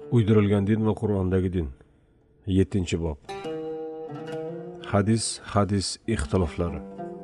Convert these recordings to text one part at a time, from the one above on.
Uydirilgan din va Qur'ondagi din. 7-bob. Hadis ixtiloflari.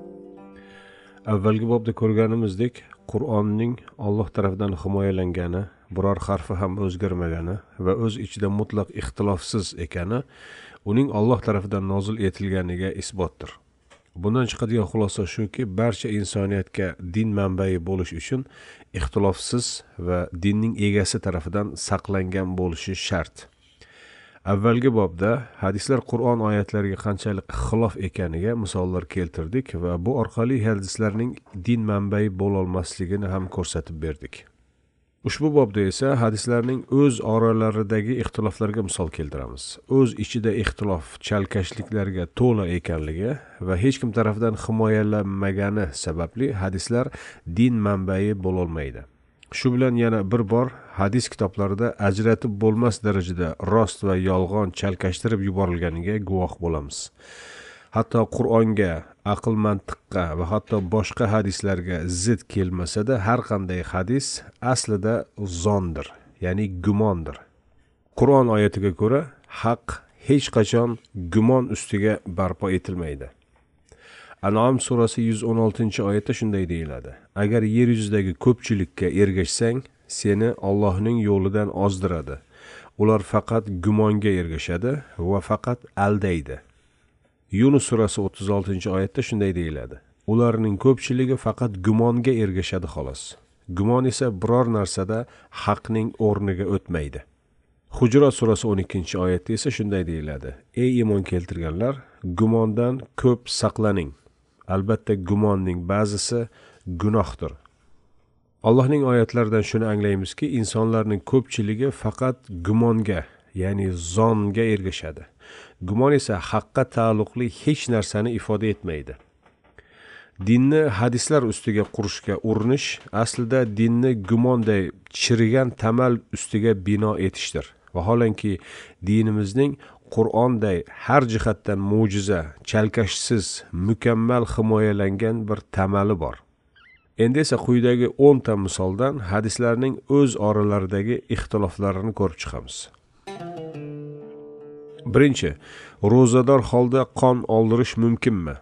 Avvalgi bobda ko'rganimizdek, Qur'onning Alloh tomonidan himoyalangani, biror harfi ham o'zgarmagani va o'z ichida mutlaq ixtilofsiz ekani uning Alloh tomonidan nozil etilganiga isbotdir. Bundan chiqadigan xulosa shuki, barcha insoniyatga din manbai bo'lish uchun ixtilofsiz va dinning egasi tomonidan saqlangan bo'lishi shart. Avvalgi bobda hadislar Qur'on oyatlariga qanchalik xilof ekaniga misollar keltirdik va bu orqali hadislarning din manbai bo'la olmasligini ham ko'rsatib berdik. Ushbu bobda esa hadislarning o'z oralaridagi ixtiloflarga misol keltiramiz. O'z ichida ixtilof chalkashliklarga to'la ekanligi va hech kim tomonidan himoyalanmagani sababli hadislar din manbai bo'la olmaydi. Shu bilan yana bir bor hadis kitoblarida ajratib bo'lmas darajada rost va yolg'on chalkashtirib yuborilganiga guvoh bo'lamiz. Hatto Qur'onga, aql mantiqqa va hatto boshqa hadislarga zid kelmasa-da, har qanday hadis aslida zondir, ya'ni gumondir. Qur'on oyatiga ko'ra, haq hech qachon gumon ustiga barpo etilmaydi. An'am surasi 116-oyatda shunday deyiladi: Agar yer yuzidagi ko'pchilikka ergashsang, seni Allohning yo'lidan ozdiradi. Ular faqat gumonga ergashadi va faqat aldaydi. Yunus surasi 36-oyatda shunday deyiladi: Ularning ko'pchiligi faqat gumonga ergashadi xolos. Gumon esa biror narsada haqning o'rniga o'tmaydi. Hujrat surasi 12-oyatda esa shunday deyiladi: Ey iymon keltirganlar, gumondan ko'p saqlaning. Albatta gumonning ba'zisi gunohdir. Allohning oyatlaridan shuni anglaymizki, insonlarning ko'pchiligi faqat gumonga, ya'ni zonga ergashadi. Gumon esa haqqa taalluqli hech narsani ifoda etmaydi. Dinni hadislar ustiga qurishga urinish aslida dinni gumonday chirigan tamal ustiga bino etishdir. Vaholanki dinimizning Qur'onday har jihatdan mo'jiza, chalkashsiz, mukammal himoyalangan bir tamali bor. Endi esa quyidagi 10 ta misoldan hadislarning o'z oralaridagi ixtiloflarini ko'rib chiqamiz. Birinchi, ro'zador holda qon oldirish mumkinmi?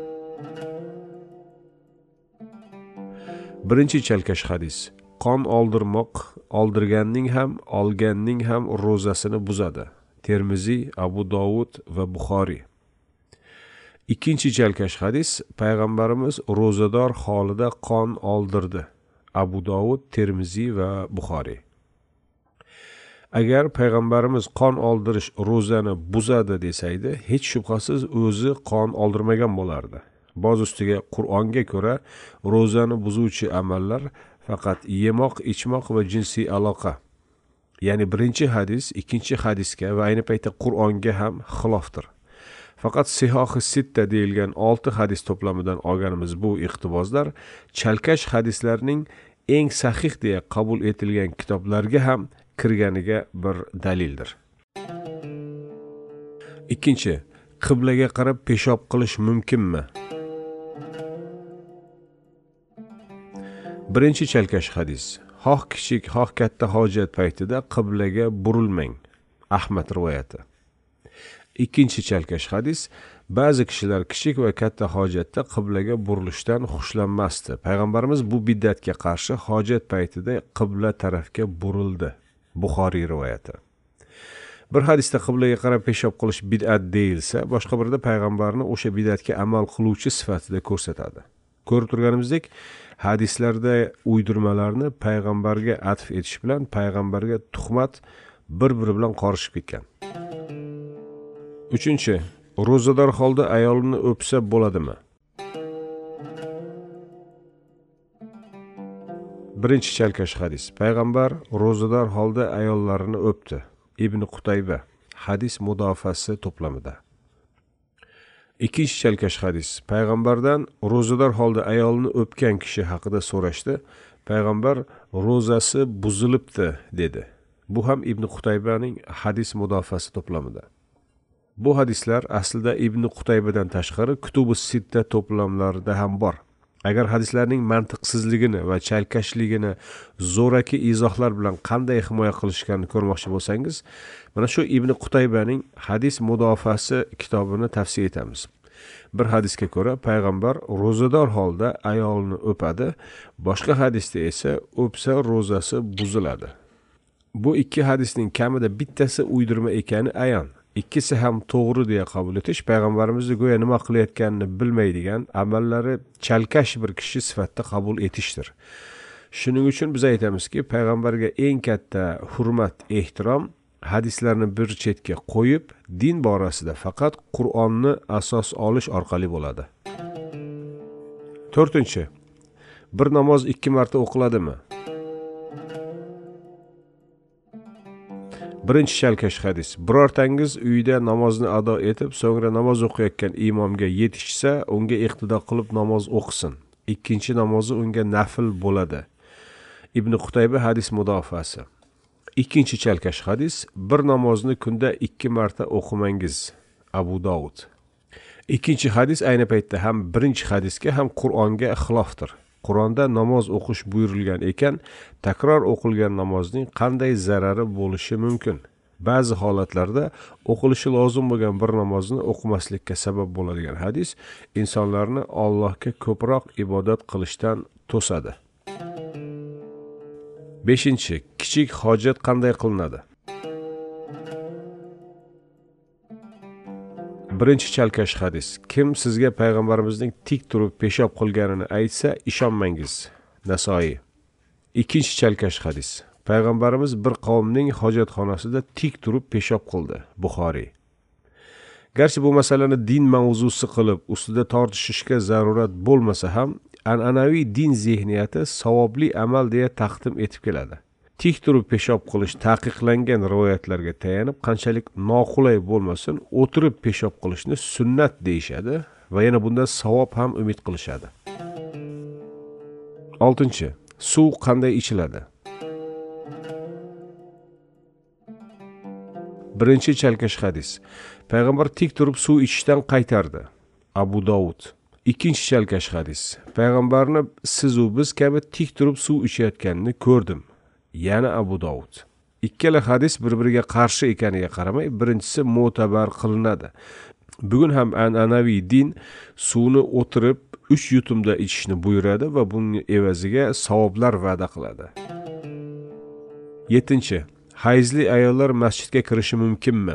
Birinchi chalkash hadis: qon oldirmoq oldirganning ham, olganning ham ro'zasini buzadi. Termiziy, Abu Dovud va Buxoriy. Ikkinchi chalkash hadis: payg'ambarimiz ro'zador holida qon oldirdi. Abu Dovud, Termiziy va Buxoriy. Agar payg'ambarimiz qon oldirish ro'zani buzadi desaydi, hech shubhasiz o'zi qon oldirmagan bo'lardi. Boz ustiga Qur'onga ko'ra ro'zani buzuvchi amallar faqat yemoq, ichmoq va jinsiy aloqa. Ya'ni birinchi hadis ikkinchi hadisga va ayni paytda Qur'onga ham xilofdir. Faqat Sihohi Sitta deyilgan 6 hadis to'plamidan olganimiz bu iqtiboslar chalkash hadislarning eng sahih deya qabul etilgan kitoblarga ham kirganiga bir dalildir. Ikkinchi, qiblaga qarab peshob qilish mumkinmi? Birinchi chalkash hadis: xoh kichik, xoh katta hojat paytida qiblaga burilmang. Ahmad rivoyati. Ikkinchi chalkash hadis: ba'zi kishilar kichik va katta hojatda qiblaga burilishdan xushlanmasdi. Payg'ambarimiz bu bid'atga qarshi hojat paytida qibla tarafga burildi. Buxoriy rivoyati. Bir hadisda qiblaga qarab peshob qilish bid'at deyilsa, boshqa birida payg'ambarni o'sha bid'atga amal qiluvchi sifatida ko'rsatadi. Ko'rib turganimizdek, hadislarda uydirmalarni payg'ambarga atf etish bilan payg'ambarga tuhmat bir-biri bilan qorishib ketgan. Uchinchi, ro'zador holda ayolini o'psa bo'ladimi? Birinchi chalkash hadis: payg'ambar ro'zador holda ayollarini o'pdi. Ibn Qutayba, hadis mudofasi to'plamida. Ikkinchi chalkash hadis: payg'ambardan ro'zador holda ayolni o'pgan kishi haqida so'rashdi. Payg'ambar ro'zasi buzilibdi dedi. Bu ham Ibn Qutaybaning hadis mudofasi to'plamida. Bu hadislar aslida Ibn Qutaybadan tashqari Kutubi Sitta to'plamlarida ham bor. Agar hadislarning mantiqsizligini va chalkashligini zo'raki izohlar bilan qanday himoya qilishganini ko'rmoqchi bo'lsangiz, mana shu Ibn Qutaybaning Hadis mudofaasi kitobini tavsiya etamiz. Bir hadisga ko'ra payg'ambar ro'zador holda ayolni o'padi, boshqa hadisda esa o'psa ro'zasi buziladi. Bu ikki hadisning kamida bittasi uydirma ekani ayon. İkkisi ham to'g'ri deya qabul etish payg'ambarimizni go'yo nima qilayotganini bilmaydigan, amallari chalkash bir kishi sifatida qabul etishdir. Shuning uchun biz aytamizki, payg'ambarga eng katta hurmat, ehtirom hadislarni bir chetga qo'yib, din borasida faqat Qur'onni asos olish orqali bo'ladi. 4. Bir namoz 2 marta o'qiladimi? Birinchi chalkash hadis. Birortangiz uyda namozni ado etib, so'ngra namoz o'qiyotgan imomga yetishsa, unga iqtido qilib namoz o'qisin. Ikkinchi namozi unga nafl bo'ladi. Ibn Qutayba hadis mudofaasi. Ikkinchi chalkash hadis. Bir namozni kunda 2 marta o'qimangiz. Abu Dovud. Ikkinchi hadis ayni paytda ham birinchi hadisga ham Qur'onga xilofdir. Qur'onda namoz o'qish buyurilgan ekan, takror o'qilgan namozning qanday zarari bo'lishi mumkin? Ba'zi holatlarda o'qilishi lozim bo'lgan bir namozni o'qimaslikka sabab bo'ladigan hadis insonlarni Allohga ko'proq ibodat qilishdan to'sadi. 5. Kichik hojat qanday qilinadi? Birinchi chalkash hadis. Kim sizga payg'ambarimizning tik turib peshob qilganini aytsa, ishonmangiz. Nasoiy. Ikkinchi chalkash hadis. Payg'ambarimiz bir qavmning hojatxonasida tik turib peshob qildi. Buxoriy. Garchi bu masalani din mavzusi qilib, ustida tortishishga zarurat bo'lmasa ham, an'anaviy din zehniyati savobli amal deya taqdim etib keladi. Tik turib peshob qilish taqiqlangan rivoyatlarga tayanib, qanchalik noqulay bo'lmasin, o'tirib peshob qilishni sunnat deyishadi va yana bundan savob ham umid qilishadi. 6. Suv qanday ichiladi? Birinchi chalkash hadis. Payg'ambar tik turib suv ichishdan qaytardi. Abu Dovud. Ikkinchi chalkash hadis. Payg'ambarni siz u biz kabi tik turib suv ichayotganini ko'rdim. Yana Abu Dovud. Ikkala hadis bir-biriga qarshi ekaniga qaramay, birinchisi mo'tabar qilinadi. Bugun ham an'anaviy din suvni o'tirib 3 yutumda ichishni buyuradi va buning evaziga savoblar va'da qiladi. 7. Hayzli ayollar masjidga kirishi mumkinmi?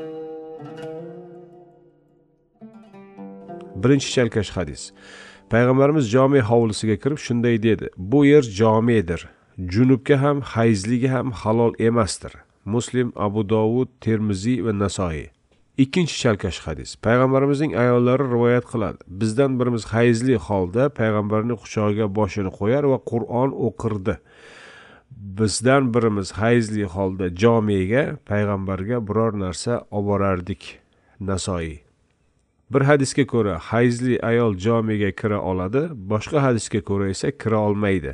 Birinchi chalkash hadis. Payg'ambarimiz jome hovlisiga kirib shunday dedi: "Bu yer jomedir. Junubga ham, hayzliga ham halol emasdir." Muslim, Abu Dovud, Termiziy va Nasoiy. Ikkinchi chalkash hadis. Payg'ambarimizning ayollari rivoyat qiladi. Bizdan birimiz hayzli holda payg'ambarning quchog'iga boshini qo'yar va Qur'on o'qirdi. Bizdan birimiz hayzli holda jomega payg'ambarga biror narsa olib borardik. Nasoiy. Bir hadisga ko'ra hayzli ayol jomega kira oladi, boshqa hadisga ko'ra esa kira olmaydi.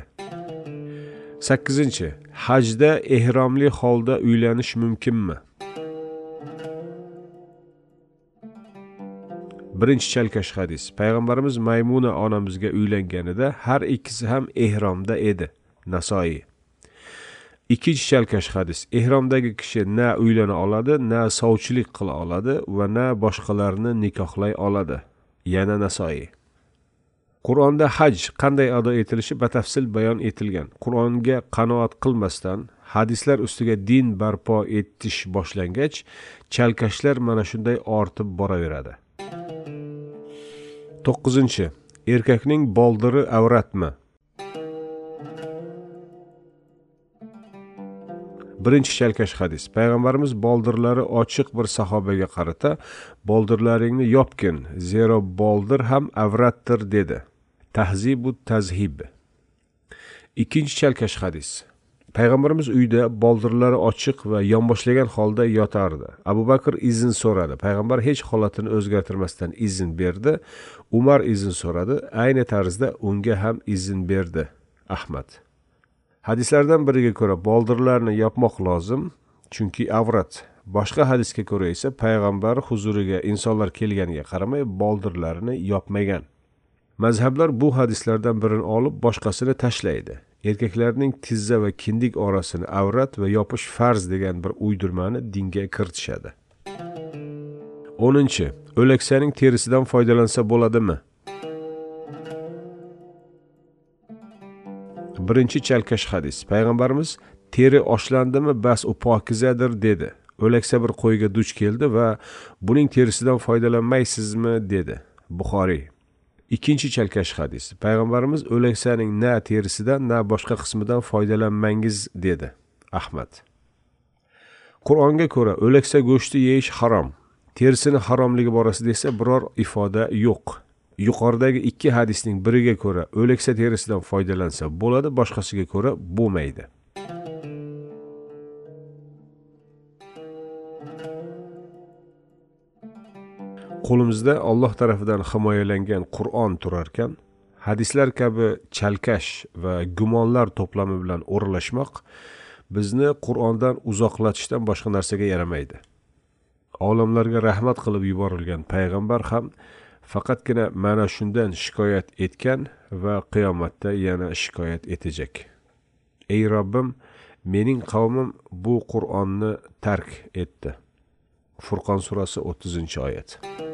8. Hajda ehromli holda uylanish mumkinmi? Birinchi chalkash hadis. Payg'ambarimiz Maymuna onamizga uylanganida har ikkisi ham ehromda edi. Nasoiy. Ikkinchi chalkash hadis. Ehromdagi kishi na uylana oladi, na sovchilik qila oladi va na boshqalarni nikohlay oladi. Yana Nasoiy. Qur'onda haj qanday ado etilishi batafsil bayon etilgan. Qur'onga qanoat qilmasdan hadislar ustiga din barpo etish boshlangach, chalkashlar mana shunday ortib boraveradi. 9. Erkakning boldiri avratmi? Birinchi chalkash hadis. Payg'ambarimiz boldirlari ochiq bir sahobaga qarata, "Boldirlaringni yopgin, zero boldir ham avratdir" dedi. Tahzibu tazhib. Ikkinchi chalkash hadis. Payg'ambarimiz uyda boldirlari ochiq va yonboshlagan holda yotardi. Abu Bakr izn so'radi. Payg'ambar hech holatini o'zgartirmasdan izn berdi. Umar izn so'radi. Ayni tarzda unga ham izn berdi. Ahmad. Hadislardan biriga ko'ra boldirlarni yopmoq lozim, chunki avrat. Boshqa hadisga ko'ra esa payg'ambar huzuriga insonlar kelganiga qaramay boldirlarini yopmagan. Mazhablar bu hadislardan birini olib, boshqasini tashlaydi. Erkaklarning tizza va kindik orasini avrat va yopish farz degan bir uydirmani dinga kiritishadi. 10. O'laksaning terisidan foydalansa bo'ladimi? Birinchi chalkash hadis. Payg'ambarimiz teri oshlandimi, bas u pokizadir dedi. O'laksa bir qo'yga duch keldi va buning terisidan foydalanmaysizmi dedi. Buxoriy. Ikkinchi chalkash hadis. Payg'ambarimiz o'laksaning na terisidan, na boshqa qismidan foydalanmangiz dedi. Ahmad. Qur'onga ko'ra o'laksa go'shti yeyish harom. Terisini haromligi borasida esa biror ifoda yo'q. Yuqoridagi ikki hadisning biriga ko'ra o'laksa terisidan foydalansa bo'ladi, boshqasiga ko'ra bo'lmaydi. Qo'limizda Alloh tarafidan himoyalangan Qur'on turar ekan, hadislar kabi chalkash va gumonlar to'plami bilan o'ralashmoq bizni Qur'ondan uzoqlatishdan boshqa narsaga yaramaydi. Olamlarga rahmat qilib yuborilgan payg'ambar ham faqatgina mana shundan shikoyat etgan va qiyomatda yana shikoyat etacak. Ey Robbim, mening qavmim bu Qur'onni tark etdi. Furqon surasi 30-oyat.